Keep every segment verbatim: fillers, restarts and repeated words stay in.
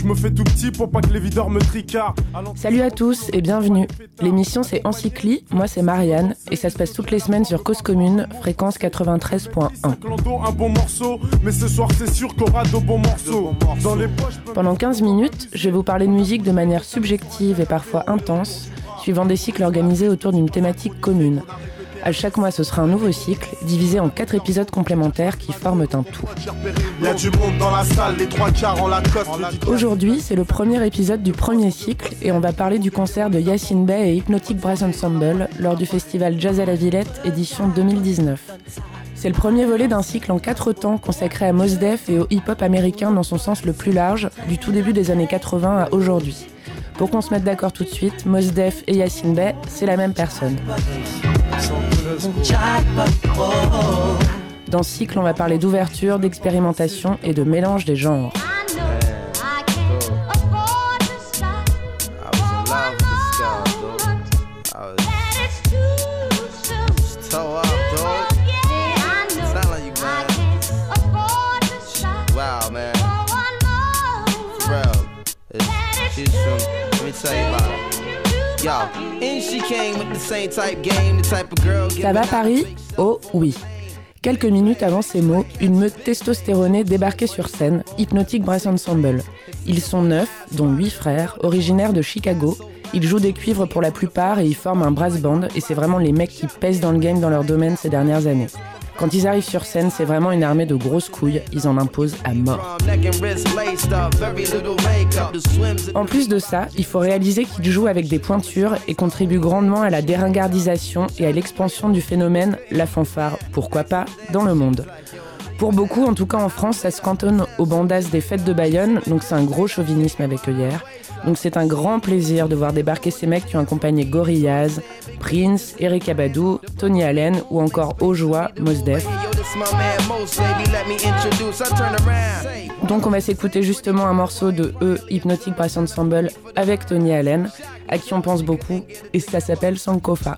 Je me fais tout petit pour pas que les videurs me tricardent. Salut à tous et bienvenue. L'émission c'est Encycli, moi c'est Marianne et ça se passe toutes les semaines sur Cause Commune, fréquence quatre-vingt-treize point un. Pendant quinze minutes, je vais vous parler de musique de manière subjective et parfois intense, suivant des cycles organisés autour d'une thématique commune. À chaque mois, ce sera un nouveau cycle, divisé en quatre épisodes complémentaires qui forment un tout. Aujourd'hui, c'est le premier épisode du premier cycle et on va parler du concert de Yasiin Bey et Hypnotic Brass Ensemble lors du festival Jazz à la Villette, édition deux mille dix-neuf. C'est le premier volet d'un cycle en quatre temps consacré à Mos Def et au hip-hop américain dans son sens le plus large, du tout début des années quatre-vingts à aujourd'hui. Pour qu'on se mette d'accord tout de suite, Mos Def et Yasiin Bey, c'est la même personne. Dans ce cycle, on va parler d'ouverture, d'expérimentation et de mélange des genres. Ça va Paris ? Oh oui. Quelques minutes avant ces mots, une meute testostéronée débarquait sur scène, Hypnotic Brass Ensemble. Ils sont neuf, dont huit frères, originaires de Chicago. Ils jouent des cuivres pour la plupart et ils forment un brass band et c'est vraiment les mecs qui pèsent dans le game dans leur domaine ces dernières années. Quand ils arrivent sur scène, c'est vraiment une armée de grosses couilles, ils en imposent à mort. En plus de ça, il faut réaliser qu'ils jouent avec des pointures et contribuent grandement à la déringardisation et à l'expansion du phénomène la fanfare, pourquoi pas, dans le monde. Pour beaucoup, en tout cas en France, ça se cantonne aux bandas des fêtes de Bayonne, donc c'est un gros chauvinisme avec œillère. Donc c'est un grand plaisir de voir débarquer ces mecs qui ont accompagné Gorillaz, Prince, Erykah Badu, Tony Allen ou encore Ojoa, Mos Def. Donc on va s'écouter justement un morceau de eux, Hypnotic Brass Ensemble, avec Tony Allen, à qui on pense beaucoup, et ça s'appelle Sankofa.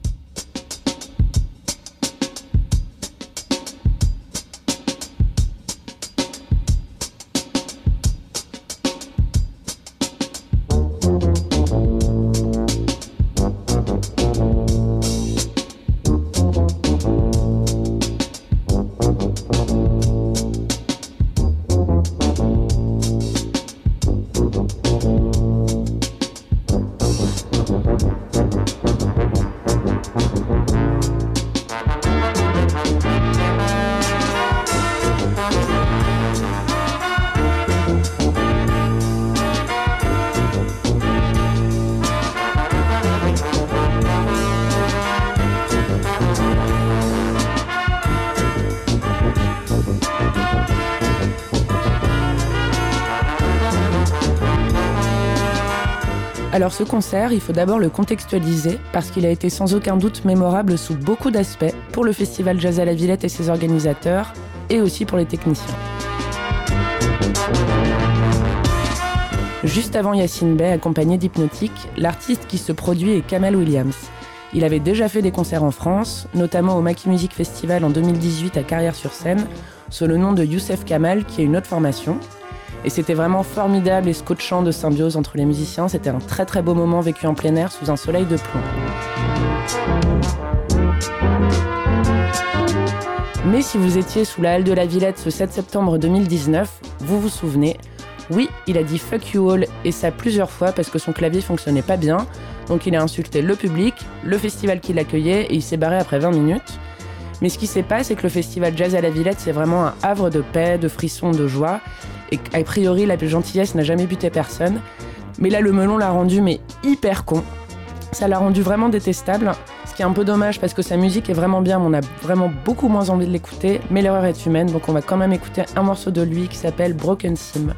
Alors ce concert, il faut d'abord le contextualiser parce qu'il a été sans aucun doute mémorable sous beaucoup d'aspects pour le festival Jazz à la Villette et ses organisateurs et aussi pour les techniciens. Juste avant Yasiin Bey, accompagné d'Hypnotic, l'artiste qui se produit est Kamel Williams. Il avait déjà fait des concerts en France, notamment au Maki Music Festival en deux mille dix-huit à Carrière-sur-Seine, sous le nom de Youssef Kamal, qui est une autre formation. Et c'était vraiment formidable et scotchant de symbiose entre les musiciens. C'était un très très beau moment vécu en plein air sous un soleil de plomb. Mais si vous étiez sous la halle de la Villette ce sept septembre deux mille dix-neuf, vous vous souvenez, oui, il a dit « fuck you all » et ça plusieurs fois parce que son clavier fonctionnait pas bien. Donc il a insulté le public, le festival qui l'accueillait et il s'est barré après vingt minutes. Mais ce qui s'est passé, c'est que le festival Jazz à la Villette, c'est vraiment un havre de paix, de frissons, de joie. Et a priori, la gentillesse n'a jamais buté personne. Mais là, le melon l'a rendu mais hyper con. Ça l'a rendu vraiment détestable. Ce qui est un peu dommage parce que sa musique est vraiment bien, mais on a vraiment beaucoup moins envie de l'écouter. Mais l'erreur est humaine, donc on va quand même écouter un morceau de lui qui s'appelle Broken Sim.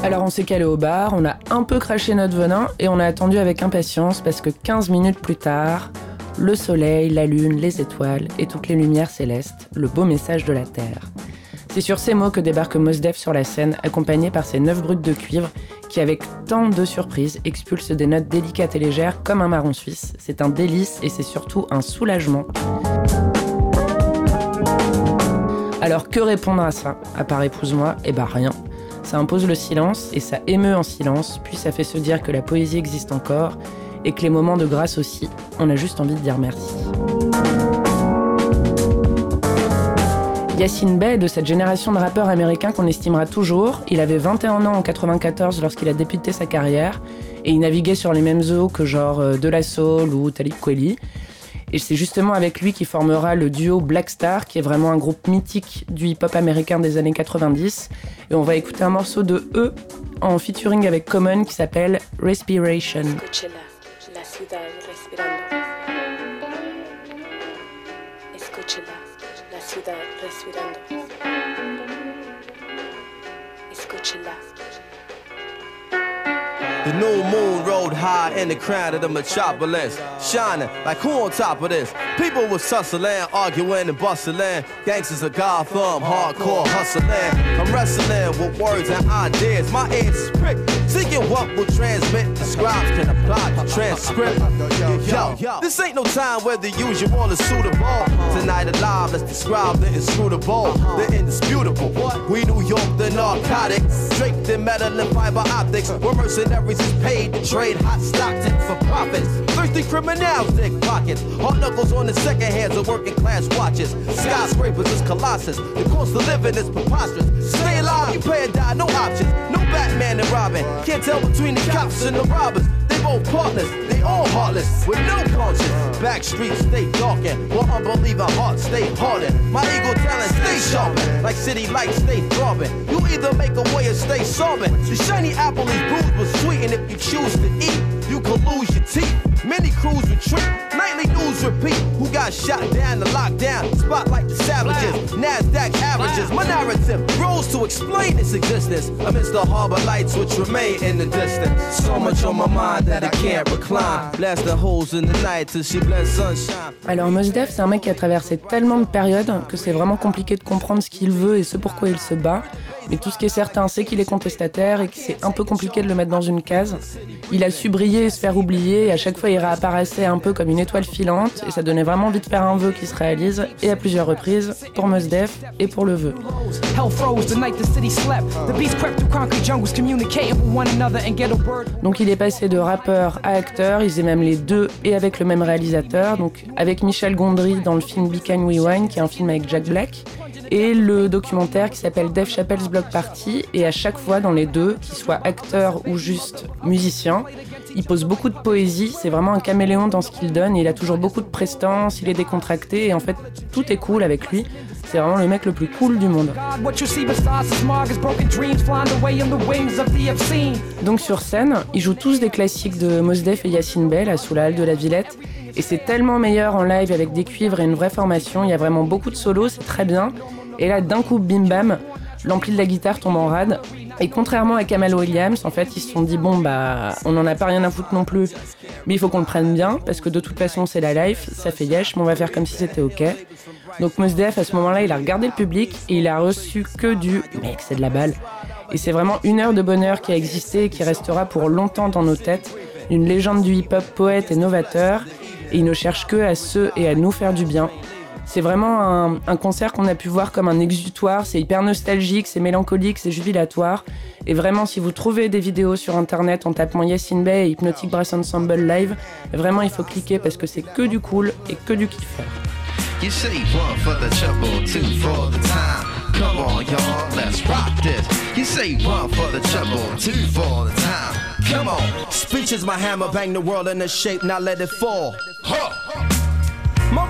Alors on s'est calé au bar, on a un peu craché notre venin et on a attendu avec impatience parce que quinze minutes plus tard, le soleil, la lune, les étoiles et toutes les lumières célestes, le beau message de la Terre. C'est sur ces mots que débarque Mos Def sur la scène, accompagné par ses neuf brutes de cuivre qui, avec tant de surprises, expulsent des notes délicates et légères comme un marron suisse. C'est un délice et c'est surtout un soulagement. Alors que répondre à ça, à part épouse-moi? Eh ben rien. Ça impose le silence et ça émeut en silence, puis ça fait se dire que la poésie existe encore et que les moments de grâce aussi, on a juste envie de dire merci. Yasin Bey est de cette génération de rappeurs américains qu'on estimera toujours. Il avait vingt et un ans en quatre-vingt-quatorze lorsqu'il a débuté sa carrière et il naviguait sur les mêmes eaux que genre De La Soul ou Talib Kweli. Et c'est justement avec lui qu'il formera le duo Black Star, qui est vraiment un groupe mythique du hip-hop américain des années quatre-vingt-dix. Et on va écouter un morceau de eux en featuring avec Common qui s'appelle Respiration. La ciudad respirando. Escúchela, la ciudad respirando. Escúchela. The new moon rode high in the crown of the metropolis, shining like who on top of this? People was hustling, arguing and bustling. Gangsters of Gotham, hardcore hustling. I'm wrestling with words and ideas. My ears is pricked, seeking what will transmit. The scribes can apply the transcript. Yo, yo, this ain't no time where the usual is suitable. Tonight alive, let's describe the inscrutable, the indisputable. We New York, the narcotics, draped in metal and fiber optics. We're mercenaries is paid to trade hot Stockton for profits. Thirsty criminals dig pockets. Hard knuckles on the second hands of working class watches. Skyscrapers is colossus. The cost of living is preposterous. Stay alive, you pay or die, no options. No Batman and Robin. Can't tell between the cops and the robbers. They both partners, they all heartless, with no conscience. Back streets stay darkened, while unbeliever hearts stay hardened. My ego talent stay sharpened, like city lights stay throbbing. You either make a way or stay sobbing. The shiny apple is bruised but sweet, and if you choose to eat, you could lose your teeth. Many crews retreat, nightly news repeat. Who got shot down, the lockdown, spotlight the savages, NASDAQ averages. My narrative grows to explain its existence amidst the harbor lights which remain in the distance. So much on my mind that I can't recline. Blast the holes in the night till she bless sunshine. Alors Mos Def, c'est un mec qui a traversé tellement de périodes que c'est vraiment compliqué de comprendre ce qu'il veut et ce pourquoi il se bat. Mais tout ce qui est certain, c'est qu'il est contestataire et que c'est un peu compliqué de le mettre dans une case. Il a su briller et se faire oublier, et à chaque fois il réapparaissait un peu comme une étoile filante, et ça donnait vraiment envie de faire un vœu qui se réalise, et à plusieurs reprises, pour Mos Def et pour le vœu. Donc il est passé de rappeur à acteur, il faisait même les deux et avec le même réalisateur, donc avec Michel Gondry dans le film Be Kind We Wine, qui est un film avec Jack Black, et le documentaire qui s'appelle Dave Chappelle's Block Party, et à chaque fois dans les deux, qu'il soit acteur ou juste musicien, il pose beaucoup de poésie, c'est vraiment un caméléon dans ce qu'il donne, et il a toujours beaucoup de prestance, il est décontracté, et en fait tout est cool avec lui. C'est vraiment le mec le plus cool du monde. Donc sur scène, ils jouent tous des classiques de Mos Def et Yasin Bey, là, sous la halle de la Villette. Et c'est tellement meilleur en live avec des cuivres et une vraie formation. Il y a vraiment beaucoup de solos, c'est très bien. Et là, d'un coup, bim bam, l'ampli de la guitare tombe en rade. Et contrairement à Kamal Williams, en fait, ils se sont dit, bon, bah, on n'en a pas rien à foutre non plus, mais il faut qu'on le prenne bien, parce que de toute façon, c'est la life, ça fait yesh, mais on va faire comme si c'était ok. Donc Mos Def, à ce moment-là, il a regardé le public et il a reçu que du « mec, c'est de la balle ». Et c'est vraiment une heure de bonheur qui a existé et qui restera pour longtemps dans nos têtes. Une légende du hip-hop, poète et novateur, et il ne cherche que à ceux et à nous faire du bien. C'est vraiment un, un concert qu'on a pu voir comme un exutoire, c'est hyper nostalgique, c'est mélancolique, c'est jubilatoire. Et vraiment, si vous trouvez des vidéos sur internet en tapant Yasin Bey et Hypnotic Brass Ensemble live, vraiment il faut cliquer parce que c'est que du cool et que du kiff. You say one for the trouble, two for the time. Come on, y'all, let's rock this. You say one for the trouble, two for the time. Come on. Speech is my hammer, bang the world into shape, now let it fall. Huh. My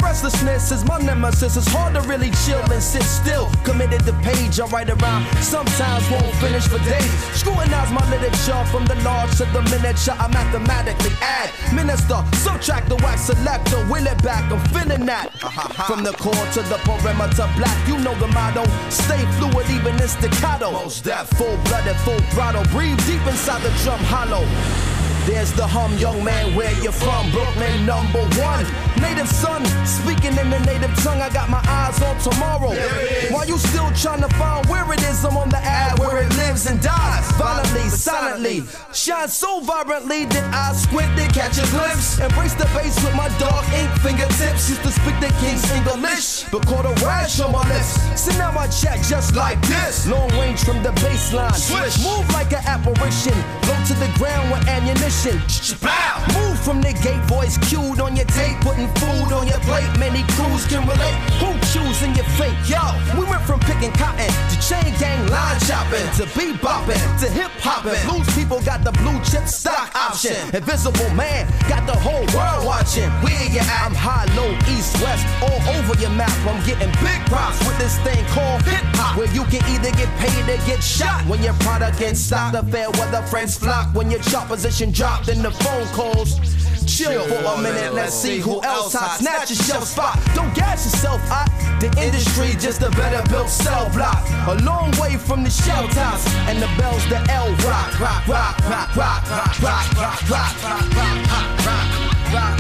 Restlessness is my nemesis. It's hard to really chill and sit still. Committed to page, I write around. Sometimes won't finish for days. Scrutinize my literature from the large to the miniature. I mathematically add. Minister, subtract the wax selector. Will it back, I'm feeling that. From the core to the perimeter black. You know the motto. Stay fluid even in staccato. Most death, full-blooded, full throttle. Breathe deep inside the drum hollow. There's the hum, young man, where you from? Brooklyn, number one. Native son, speaking in the native tongue. I got my eyes on tomorrow. While you still trying to find where it is, I'm on the ad where it lives and dies. Violently, silently, shine so vibrantly that I squint to catch a glimpse. Embrace the bass with my dark ink fingertips. Used to speak the king's English, but caught a rash on my lips. So now I chat just like this. Long range from the baseline. Switch, move like an apparition. Blow to the ground with ammunition. Move from the gate, voice cued on your tape, putting food on your plate. Many crews can relate. Who choosing your fate? Yo, we went from picking cotton to chain gang line chopping to bebopping to hip hopping. Blues people got the blue chip stock option. Invisible man got the whole world watching. Where you at? I'm high, low, east, west, all over your map. I'm getting big props with this thing called hip hop, where you can either get paid or get shot. When your product in stock, the fair weather friends flock. When your chart position drops, then the phone calls. Chill for a minute, let's see who else hot. Snatch your shelf spot. Don't gas yourself hot. The industry just a better built cell block. A long way from the shell tops and the bells, the L rock, rock, rock, rock, rock, rock, rock, rock, rock, rock, rock, rock, rock.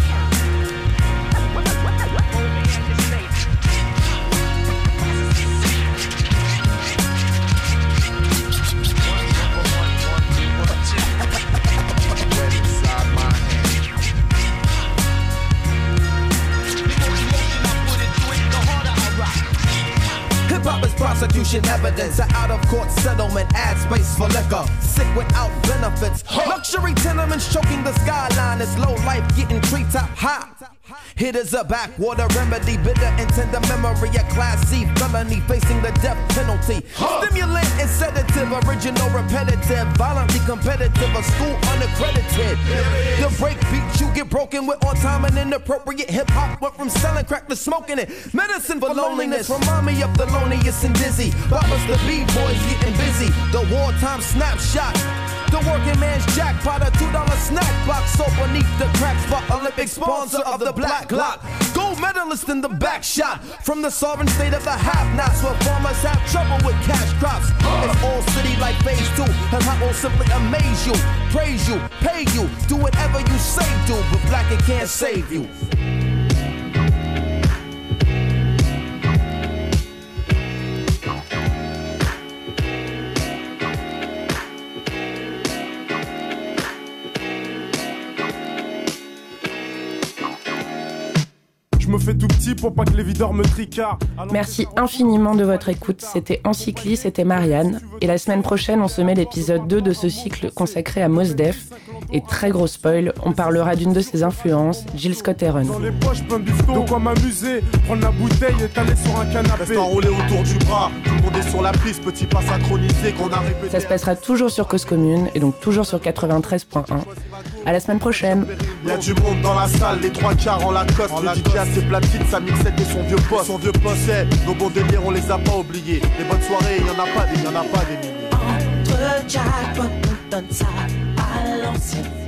Hip-hop is prosecution evidence. An out-of-court settlement adds space for liquor. Sick without benefits. Luxury tenements choking the skyline. It's low life getting treetop high. Hit is a backwater remedy. Bitter and tender memory. A class C felony facing the death penalty. Stimulant and sedative. Original repetitive. Violently competitive. A school unaccredited. The break beat you get broken with on time and inappropriate. Hip-hop went from selling crack to smoking it. Medicine for loneliness. Remind me of the loneliest and dizzy. Boppers the B-boys getting busy. The wartime snapshot. The working man's jackpot, a two dollar snack box. So beneath the crack spot, Olympic sponsor of the Black Glock. Gold medalist in the back shot. From the sovereign state of the have-nots, where farmers have trouble with cash crops. It's all city like phase two. And I will simply amaze you, praise you, pay you, do whatever you say do. But black it can't save you. Je me fais tout petit pour pas que les videurs me tricardent. Merci infiniment de votre écoute. C'était Encycli, c'était Marianne. Et la semaine prochaine, on se met l'épisode deux de ce cycle consacré à Mos Def. Et très gros spoil, on parlera d'une de ses influences, Jill Scott Heron. Dans les poches, plein de bifton, de quoi m'amuser. Prendre la bouteille et t'aller sur un canapé. Reste enroulé autour du bras, tout le monde est sur la piste. Petit pas synchronisé qu'on a répété. Ça se passera toujours sur Cause Commune et donc toujours sur quatre-vingt-treize point un. À la semaine prochaine. Y'a du monde dans la salle, les trois quarts en Lacoste. En le D J a ses platines, sa mixette et son vieux poste. Son vieux poste, c'est nos bons délires, on les a pas oubliés. Les bonnes soirées, y'en a pas des, y'en a pas des milliers. Entre Jack, on donne ça à l'ancienne.